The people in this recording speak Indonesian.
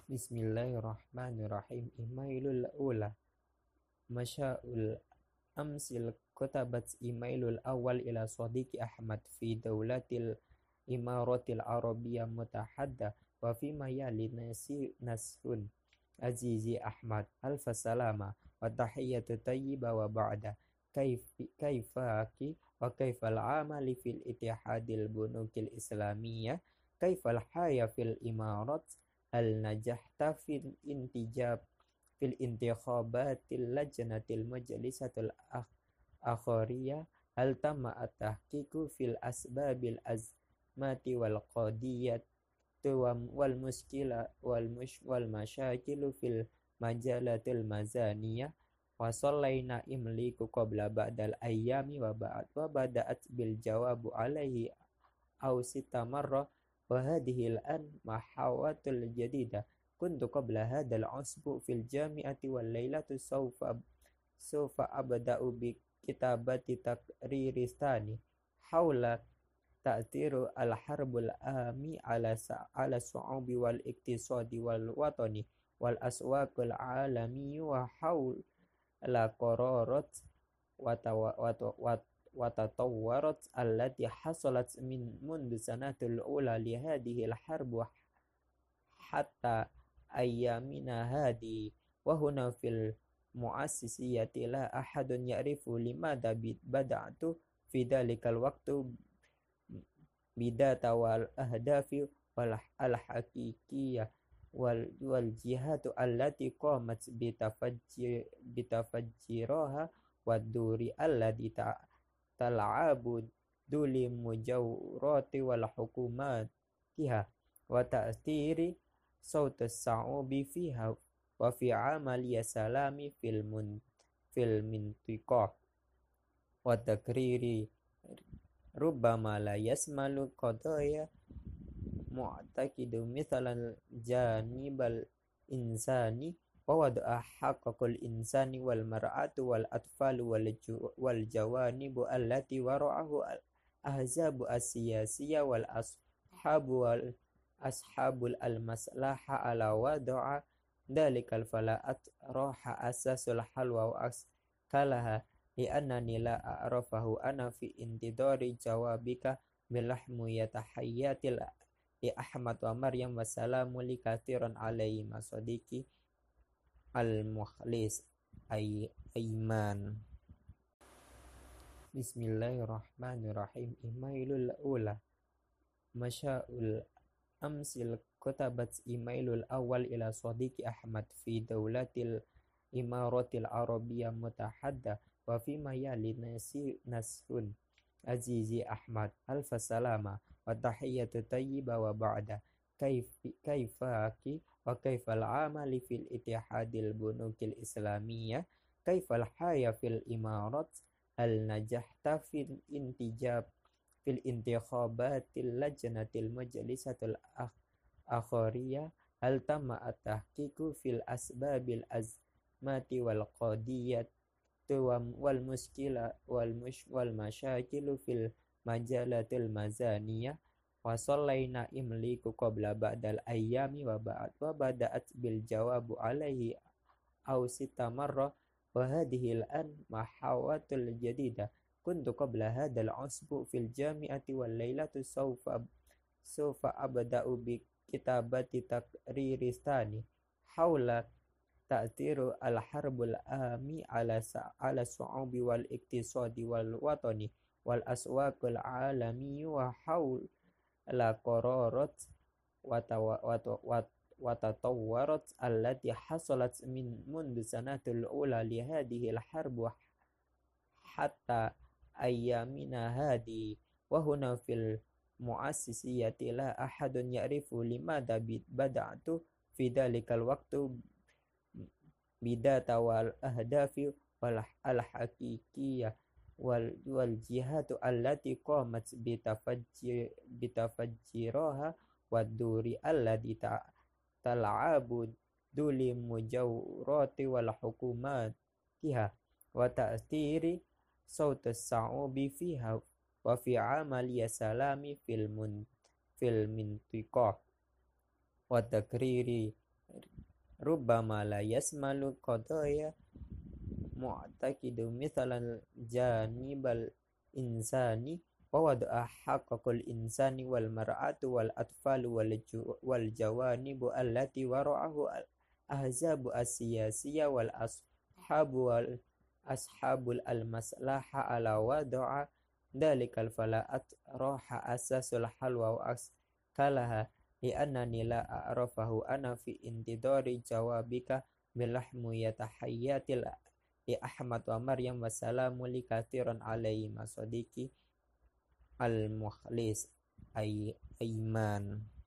Bismillahirrahmanirrahim. Imailul ula. Masya'ul amsil kutabat imailul awal ila sadiqi Ahmad fi daulatil imaratil arabiyyah mutahadda wa fi mayali nasrun azizi Ahmad alfa salama wa tahiyyatu tayyiba wa ba'da kaifaki wa kaifal amali fil ittihadil bunukil islamiyah kaifal haya fil imarat hal najahta fil intikhabatil lajnatil majlisatul akhiriyah hal tamma at-tahqiqu fil asbabil azmati wal qadiyat wal muskila wal masyakilu fil majalatil mazaniyah wa sallaina imliku qabla ba'dal ayyami wa bada'at bil jawabu alaihi aw sita marrah wa hadhihi al-an mahawatul jadidah kuntu qabla hadal usbu fil jami'ati wal lailatu sawfa abda'u bi kitabati taqriristani haula ta'tiru al harbul ami ala su'ubi wal iktisadi wal watani wal aswaqul alami wa haula qararat wa tatawwarat allati hasalat min mundu sanatul ula li hadhihi al harbu hatta ayyamina hadi wa huna fil muassisiyati la ahadun ya'rifu limadha bada'tu fi dhalikal waqtu bidata wal ahdafi wal haqiqiyah wal jihatu allati qamat bitafajjiraha wad duri allati tal'abu duli mujawrati wal hukumatiha wa ta'thiri sautus sa'ubi fiha wa fi amali salami fil mintiqah wa takriri rubbama la yasmalu qadaya mu'taqidu mithalan janibal insani wa wada'a haqqul insani wal mar'atu wal atfalu wal jawanibu allati wara'ahu al ahzabu as-siyasiyya wal ashabul al-maslaha ala wada'a dalikal fala'at roha asasul halwa wa askalaha li'annani la a'rafahu ana fi intidori jawabika bilahmu yatahayyatil li Ahmad wa Maryam wa salamu li kathiran alaihi masodiki al-mukhlis Aiman. Bismillahirrahmanirrahim. Imailul ula. Masya'ul amsil kutabat imailul awal ila sadiqi Ahmad fi daulatil imaratil arabiyyah mutahadda wa fi mayali nasrun azizi Ahmad alfa salama wa tahiyyatu tayyiba wa ba'da kaifaki wa kaifal amali fil ittihadil bunukil islamiyah kaifal haya fil imarat hal najahta fil intikhabatil lajnatil majlisatul akhiriyah hal tamma at-tahqiqu fil asbabil azmati wal qadiyat wal muskila wal masyakilu fil majalatil mazaniyah wa sallaina imliku qabla ba'dal ayyami wa bada'at bil jawabu alaihi aw sita marrah wa hadhihi al-an mahawatul jadidah kuntu qabla hadal usbu fil jami'ati wal lailatu sawfa abda'u bi kitabati taqriristani haula ta'tiru al harbul ami ala su'ubi wal iktisadi wal watani wal aswaqul alami wa haula qararat wa tatawwarat allati hasalat min mundu sanatul ula li hadhihi al harbu hatta ayyamina hadi wa huna fil muassisiyati la ahadun ya'rifu limadha bada'tu fi dhalikal waqtu bidata wal ahdafi wal haqiqiyah wal jihatu allati qamat bitafajjiraha wad duri allati tal'abu duli mujawrati wal hukumatiha wa ta'thiri sautus sa'ubi fiha wa fi amali salami fil mintiqah wa takriri rubbama la yasmalu qadaya mu'taqidu mithalan janibal insani wa wada'a haqqul insani wal mar'atu wal atfalu wal jawanibu allati wara'ahu al ahzabu as-siyasiyya wal ashabul al-maslaha ala wada'a dalikal fala'at roha asasul halwa wa kalaha li'annani la a'rafahu ana fi intidari jawabika bilahmu yatahayyatil li Ahmad wa Maryam wassalamu li kathiran alaihi masodiki al-mukhlis Aiman.